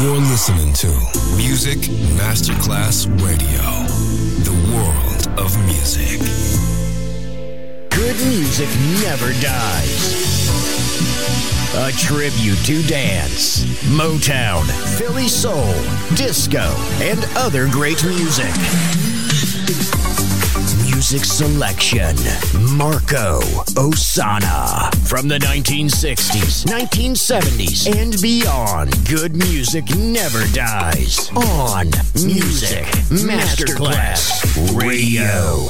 You're listening to Music Masterclass Radio, the world of music. Good music never dies. A tribute to dance, Motown, Philly soul, disco, and other great music. Music selection, Marco Ossanna. From the 1960s, 1970s, and beyond, good music never dies. On Music Masterclass Radio.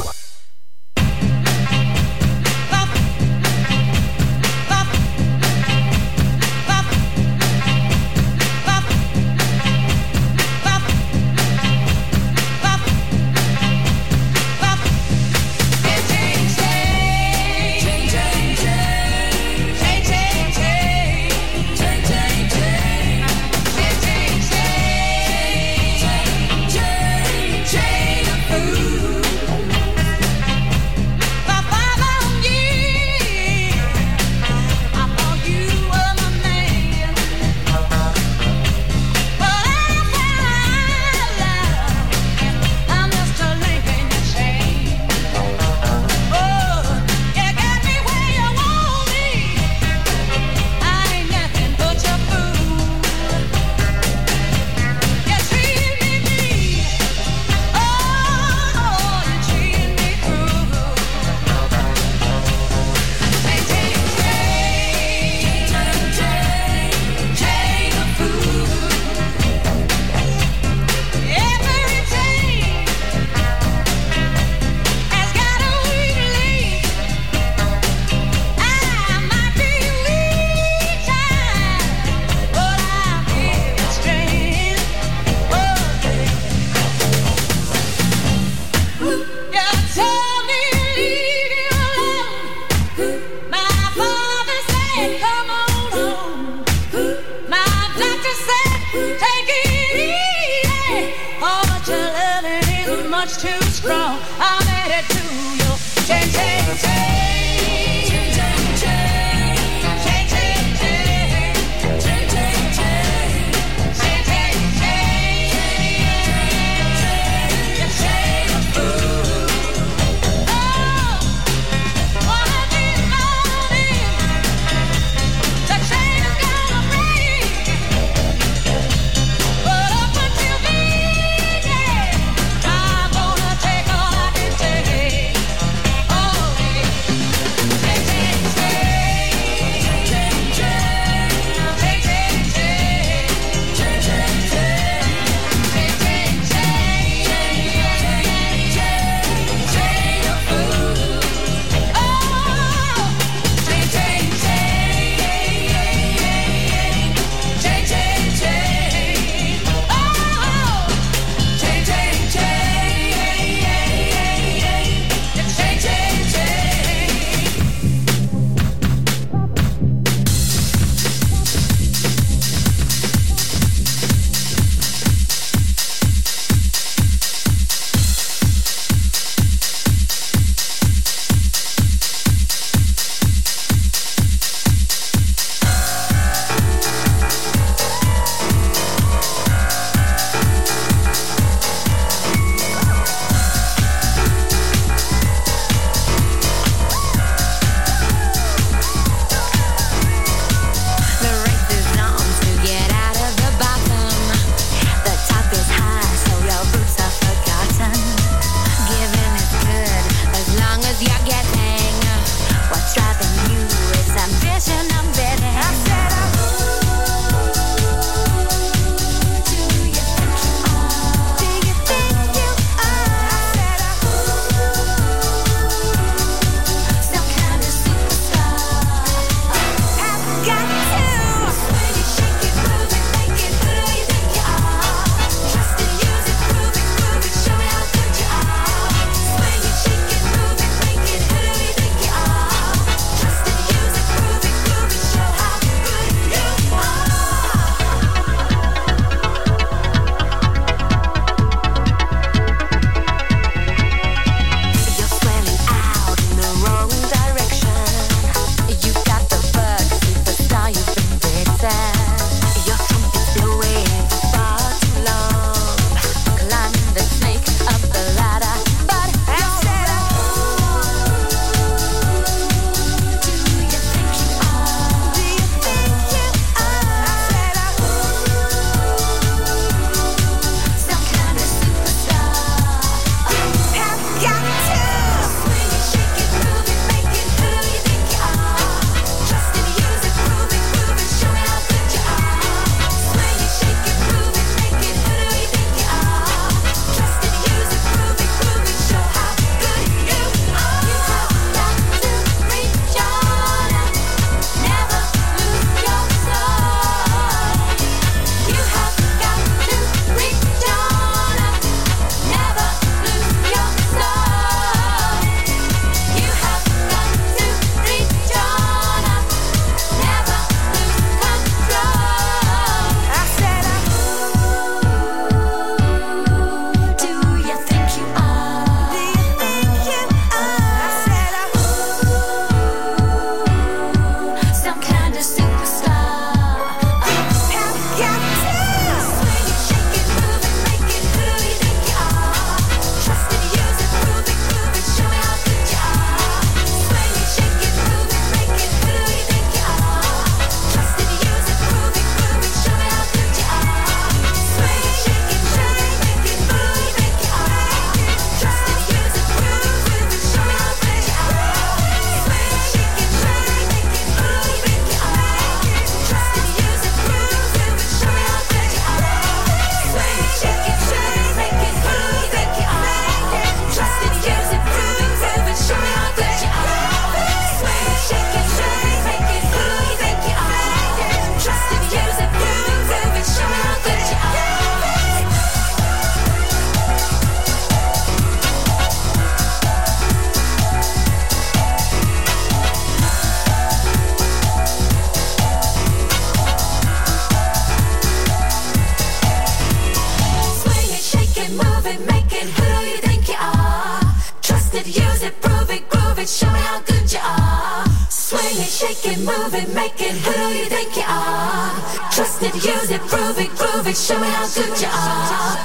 shake it, move it, make it. Who do you think you are? Twist it, use it, prove it, groove it. Show me how good you are.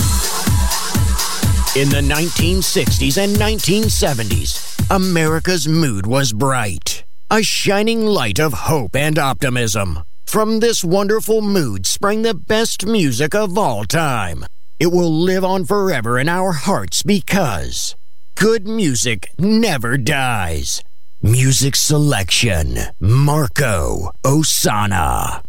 In the 1960s and 1970s, America's mood was bright, a shining light of hope and optimism. From this wonderful mood sprang the best music of all time. It will live on forever in our hearts because good music never dies. Music selection, Marco Ossanna.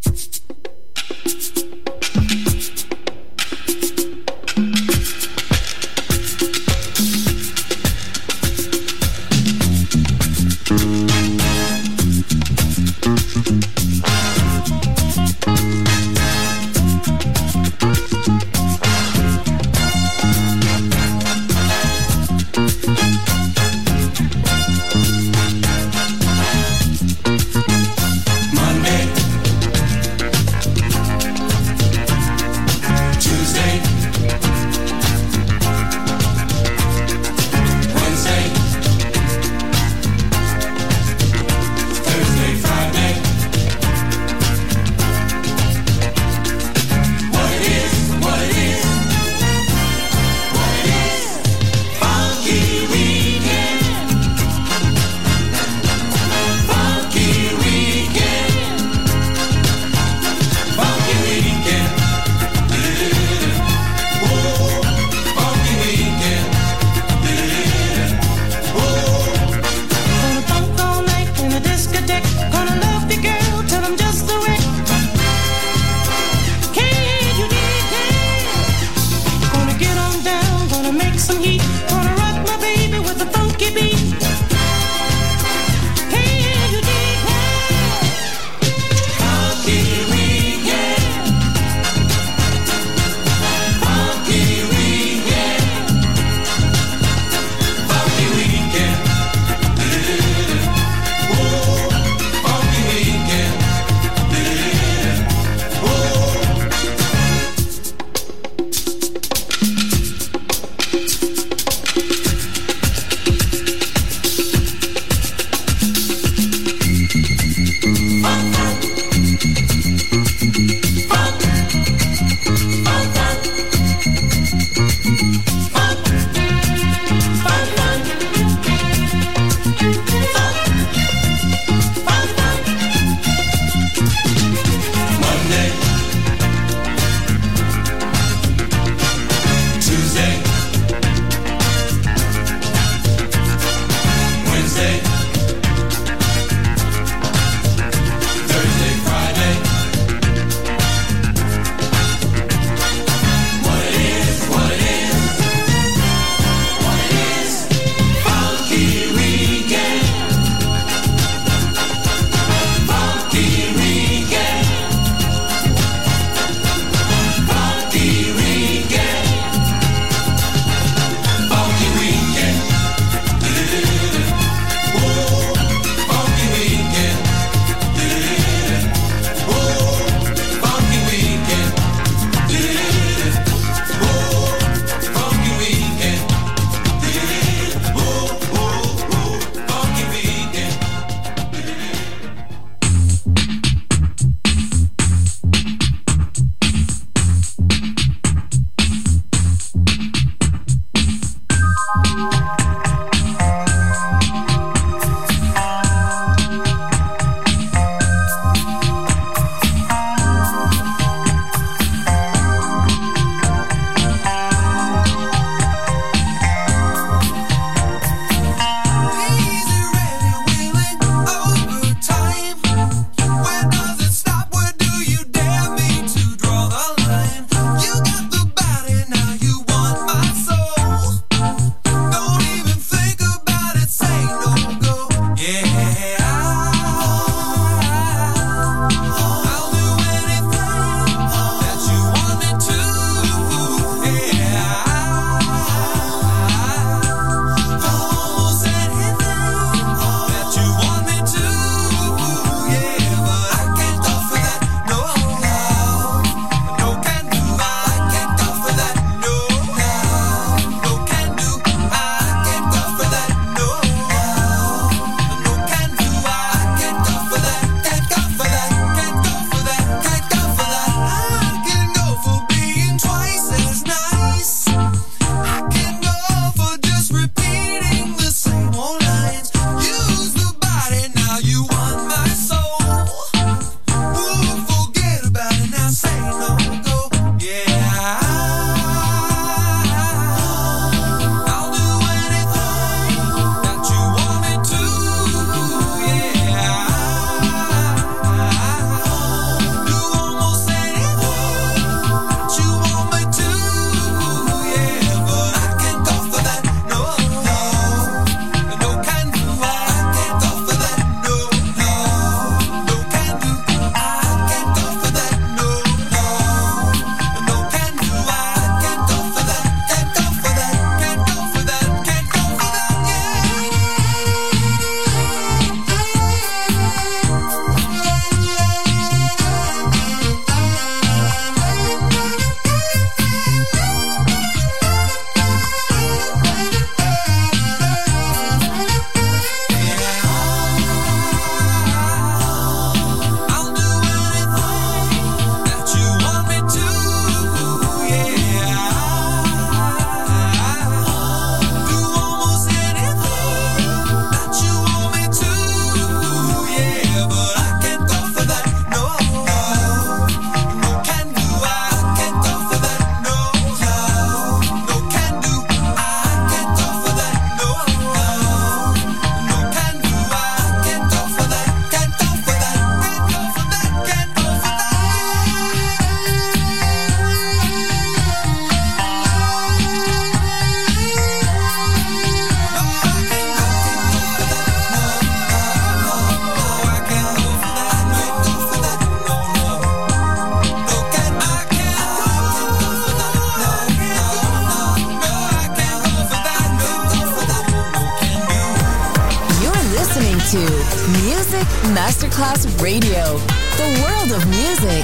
Music Masterclass Radio. The world of music.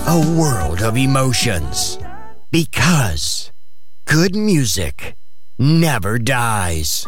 a world of emotions. Because good music never dies.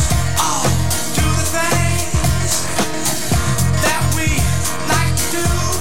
Do the things that we like to do.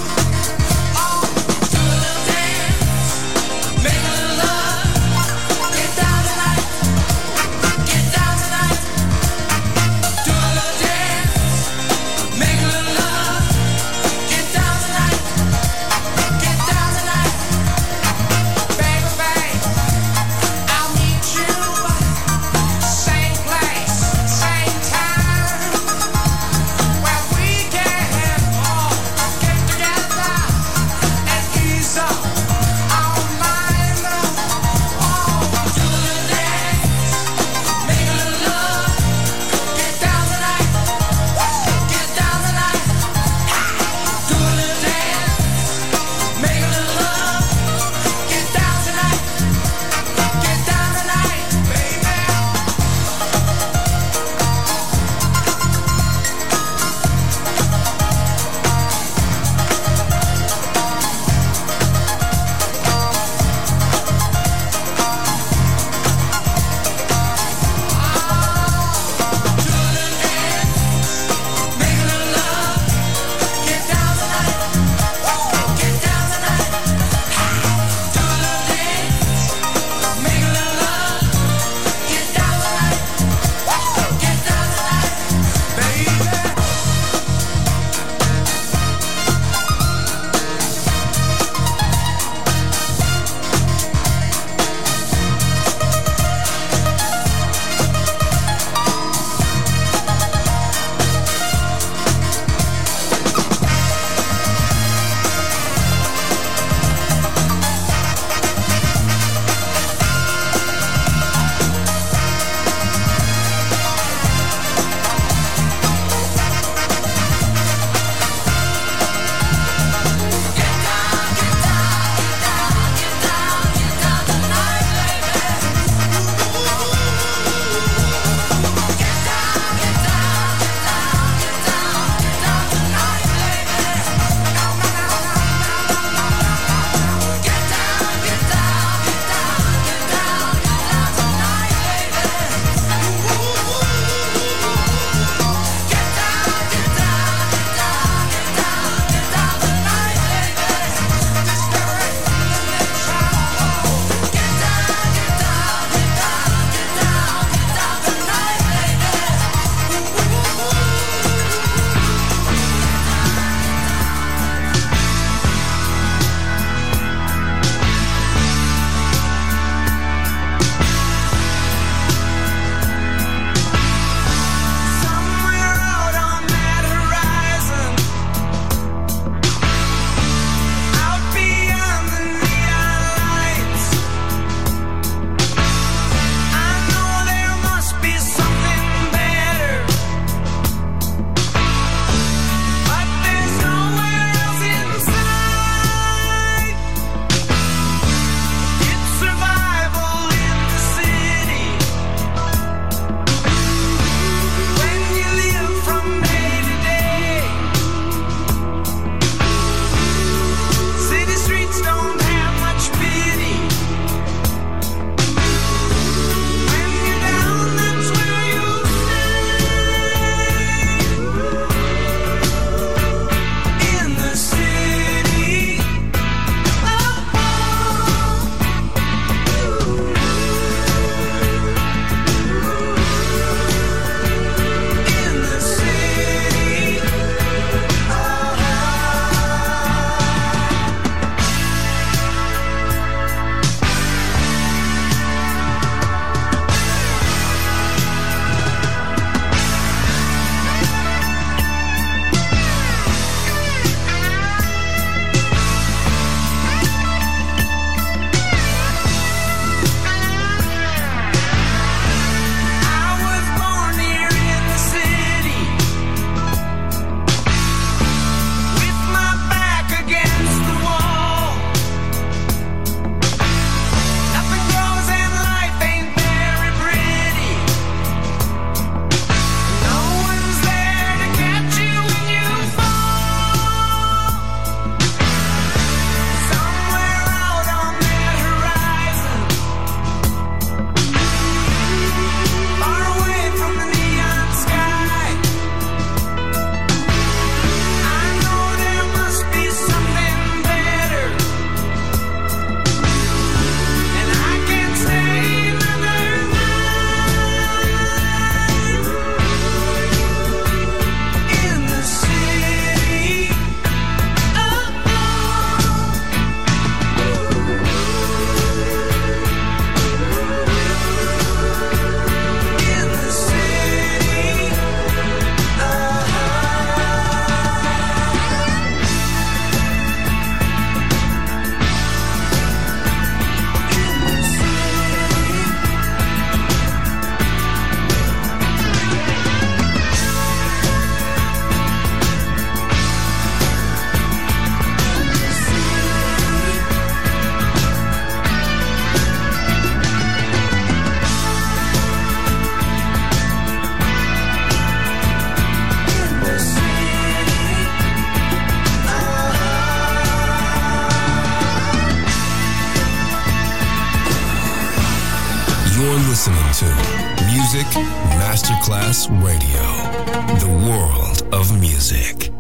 listening to Music Masterclass Radio, the world of music.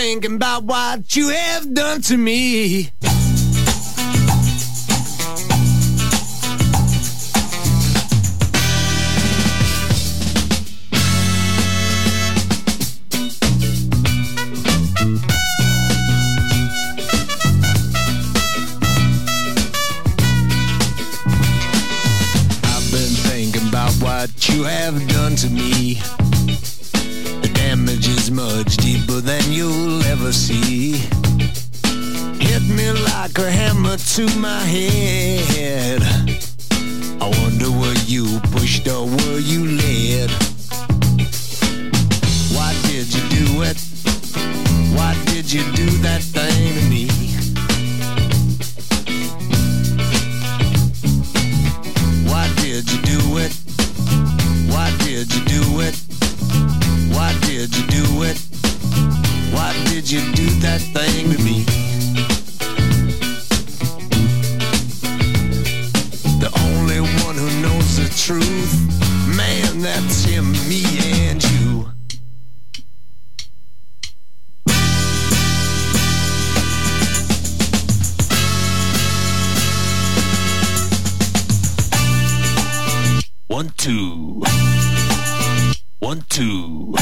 thinking about what you have done to me. What you have done to me. The damage is much deeper than you'll ever see. Hit me like a hammer to my head. I wonder were you pushed or were you led? Why did you do it? Why did you do that thing to me? Why did you do it? Why did you do it? Why did you do it? Why did you do that thing to me? The only one who knows the truth, man, that's him, me and you. One, two. 1, 2.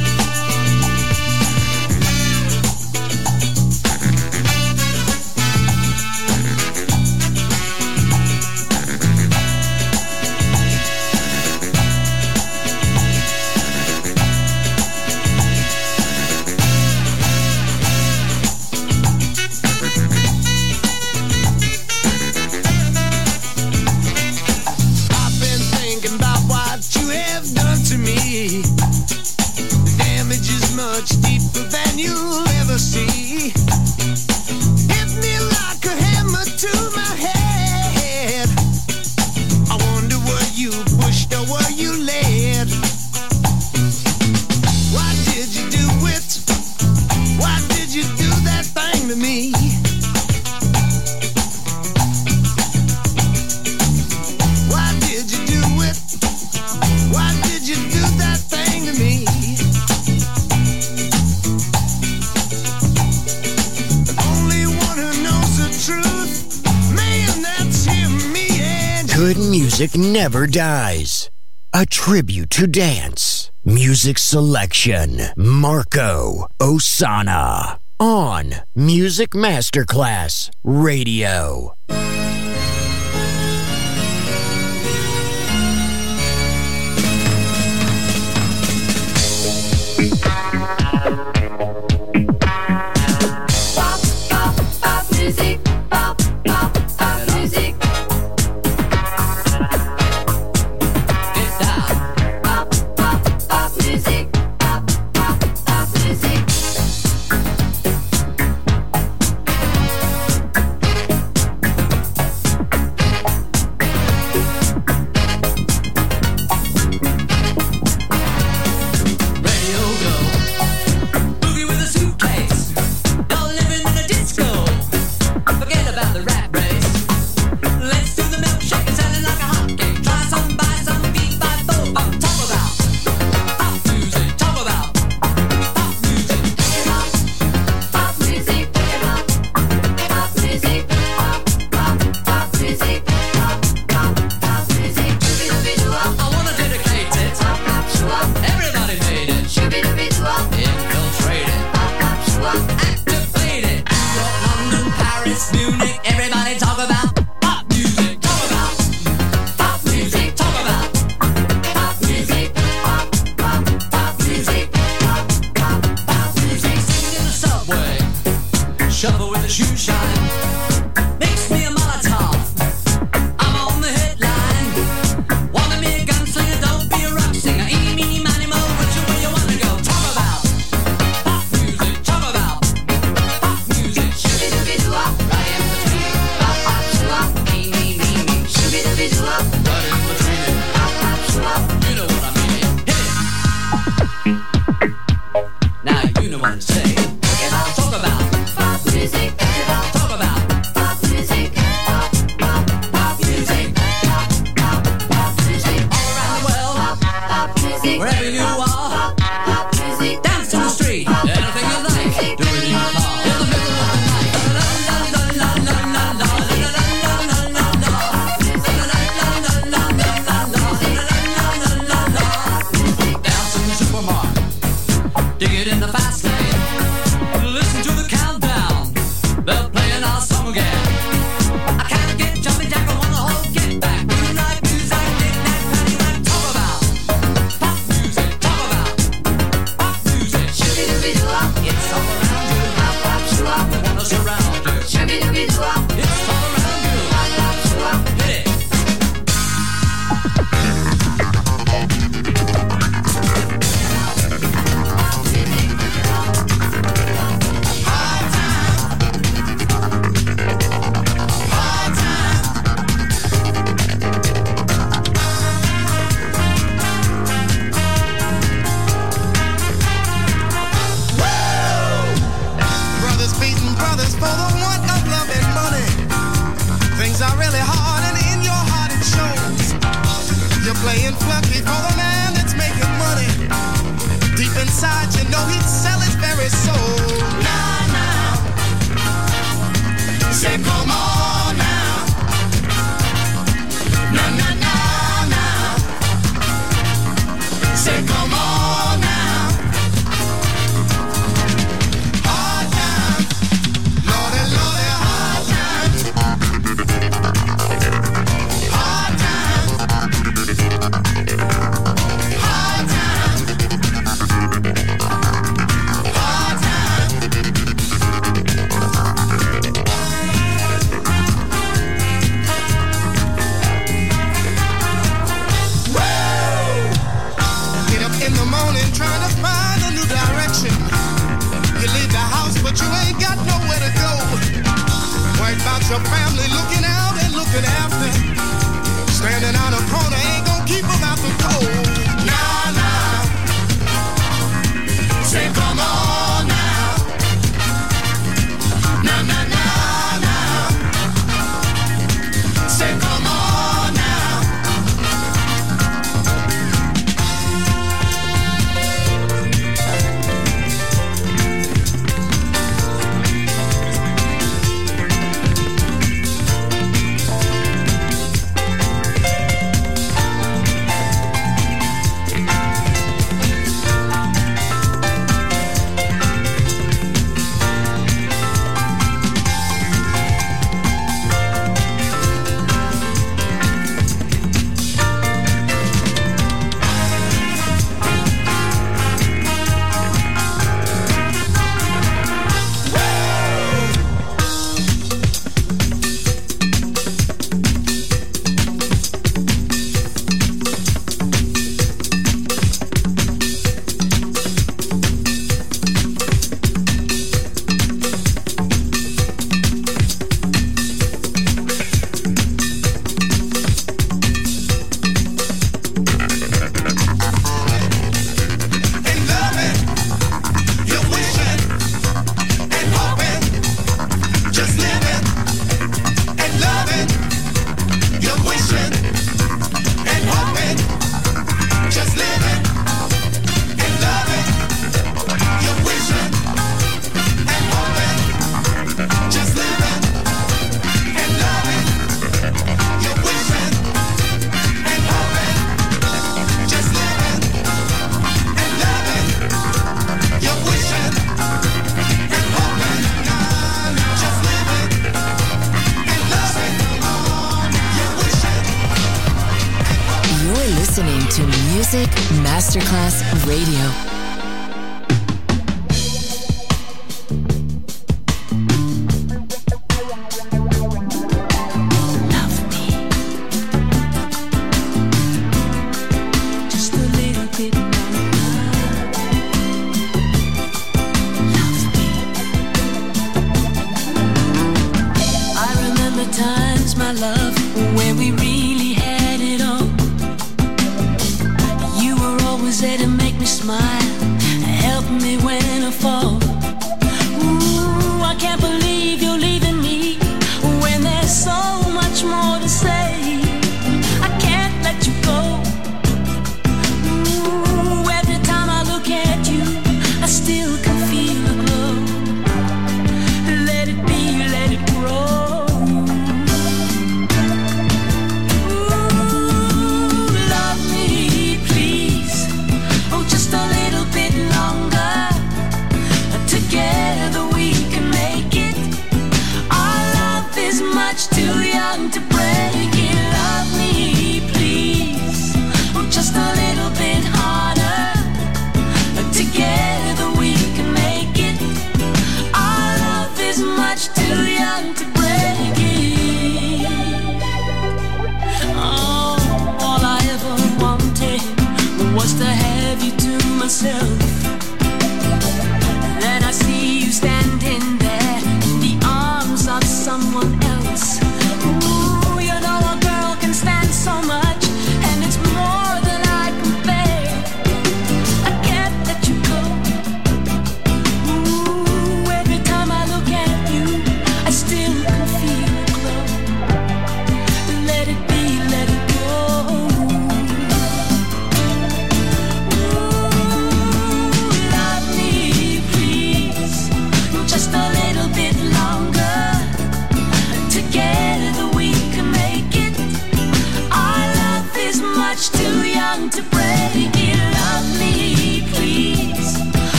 Good music never dies. A tribute to dance. Music selection. Marco Ossanna. On Music Masterclass Radio. Talk about pop music. Talk about Music Masterclass Radio.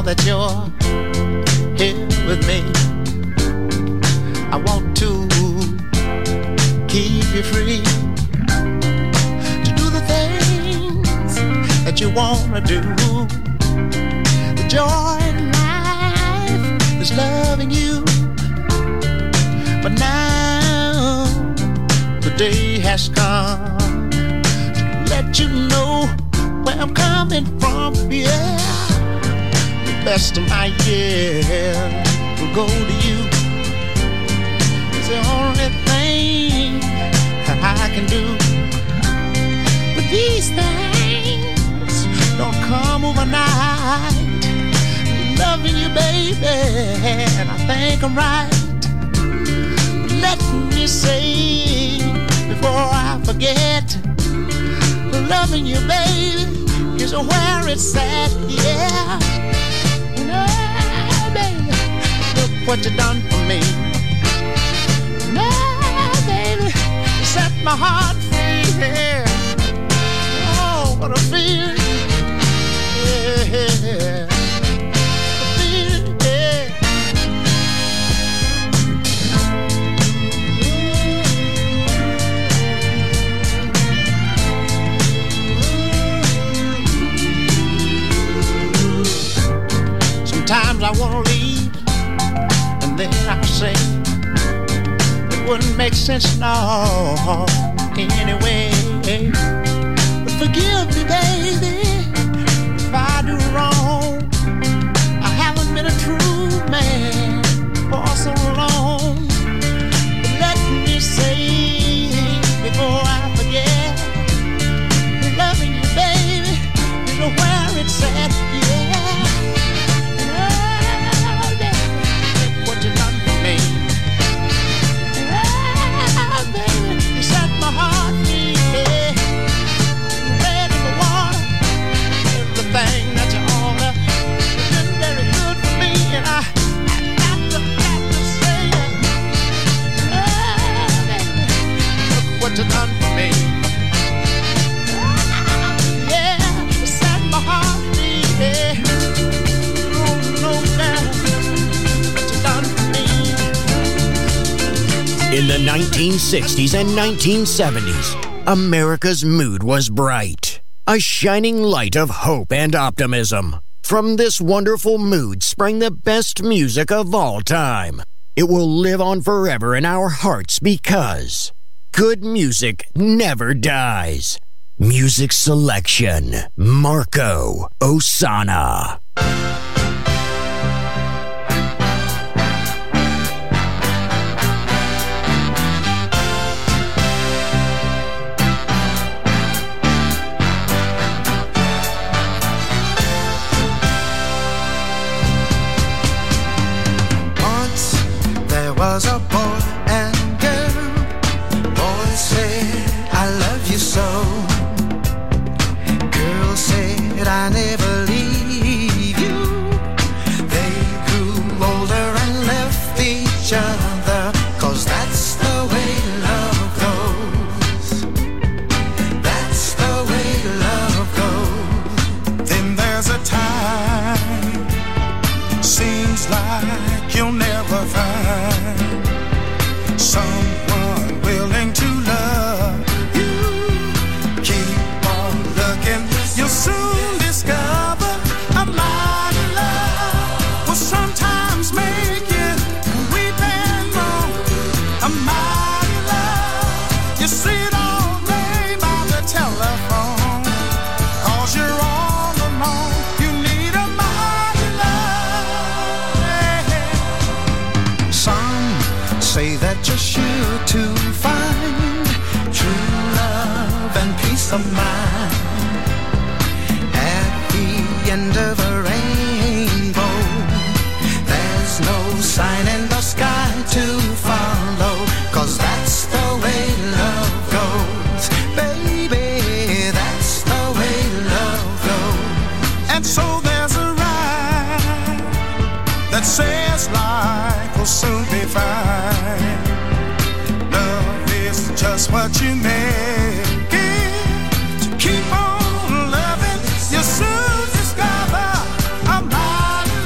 that you're here with me. I want to keep you free to do the things that you wanna do. The joy in life is loving you. But now the day has come to let you know where I'm coming from. Yeah, the best of my years will go to you. It's the only thing I can do. But these things don't come overnight. Loving you, baby, and I think I'm right. Let me say before I forget, loving you, baby, is where it's at. Yeah, no, baby, look what you done for me. No, baby, you set my heart free. Yeah. Oh, what a feeling. Yeah. Sometimes I wanna leave, and then I say it wouldn't make sense no anyway. But forgive me, baby, if I do wrong. I haven't been a true man for so long. But let me say before I forget, loving you, baby, is where it's at. Yeah. What you done for me? Yeah, you set my heart free. Yeah. Oh, no matter what you done for me. In the 1960s and 1970s, America's mood was bright, a shining light of hope and optimism. From this wonderful mood sprang the best music of all time. It will live on forever in our hearts because good music never dies. Music selection, Marco Ossanna. Once there was a boy and girl. Boy said, I love you so. Girl said, I never leave you. They grew older and left each other, 'cause that's the way love goes. That's the way love goes. Then there's a time, seems like you'll never find someone willing to love you. Keep on looking, you'll soon discover a mighty love will sometimes make you weep and moan. A mighty love, you see it all day by the telephone, 'cause you're all alone. You need a mighty love. Some say that you're sure to find true love and peace of mind at the end of a rainbow. There's no sign in the sky to follow, 'cause that's the way love goes. Baby, that's the way love goes. And so there's a rhyme that says life will soon be fine. Love is just what you make it. To keep on loving, you soon discover a mighty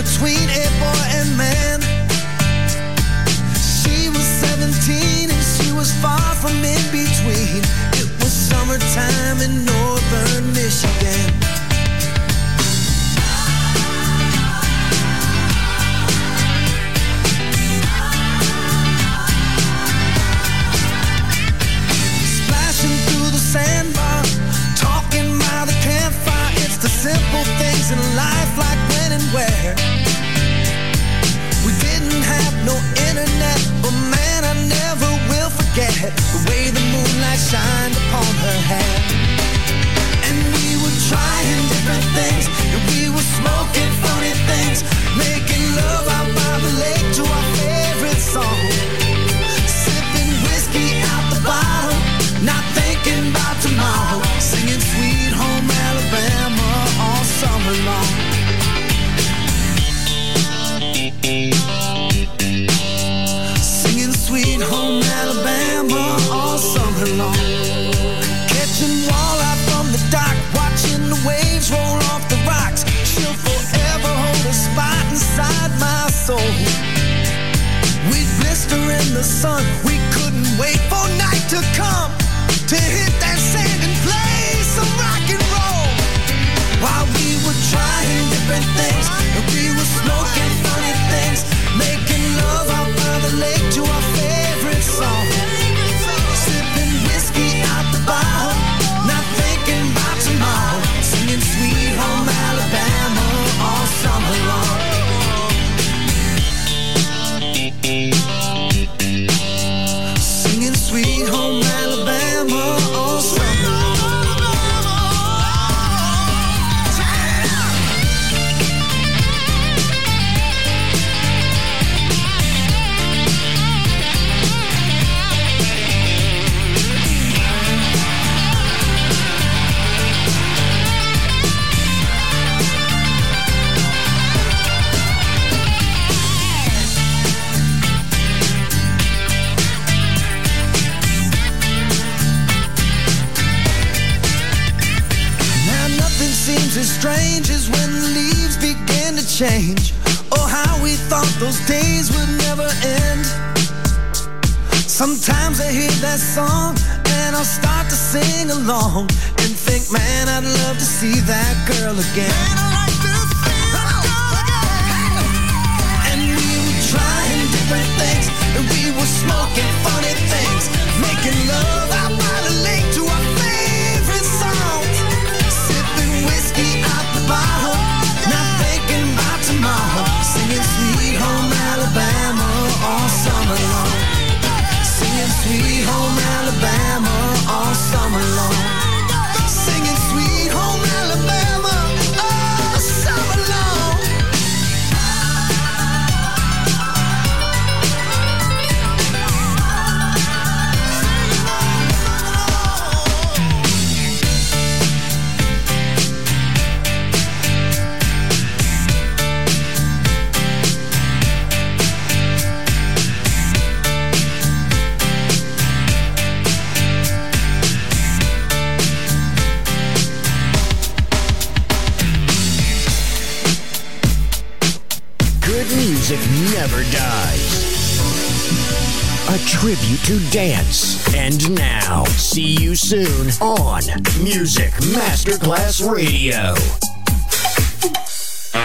between a boy and man. She was 17 and she was far from in between. It was summertime in northern Michigan. Splashing through the sandbar, talking by the campfire. It's the simple things in life, like when and where. We didn't have no internet, but man, I never will forget the way the moonlight shined upon her hair. And we were trying different things, and we were smoking funny things, making love out by the lake to our favorite song, sipping whiskey out the bottle, not thinking about tomorrow, singing Sweet Home Alabama all summer long. Singing Sweet Home Alabama all summer long. Catching walleye from the dock, watching the waves roll off the rocks. She'll forever hold a spot inside my soul. We'd blister in the sun, we couldn't wait for night to come, to hit that sand and play some rock and roll. While we were trying different things, and we were smoking funny things, making love out by the lake to our favorite song, sipping whiskey out the bottle, not thinking about tomorrow, singing Sweet Home Alabama all summer long. Singing Sweet Home Alabama all summer long. Seems as strange as when the leaves begin to change. Oh, how we thought those days would never end. Sometimes I hear that song and I'll start to sing along and think, man, I'd love to see that girl again. Man, I'd like to see that girl again. And we were trying different things, and we were smoking funny things, making love out by the lake to our favorite songs, whiskey out the bottle, not thinking about tomorrow, singing Sweet Home Alabama all summer long. Singing Sweet Home Alabama all summer long. Singing Sweet Home Alabama all summer long. Music never dies. A tribute to dance. And now, see you soon on Music Masterclass Radio.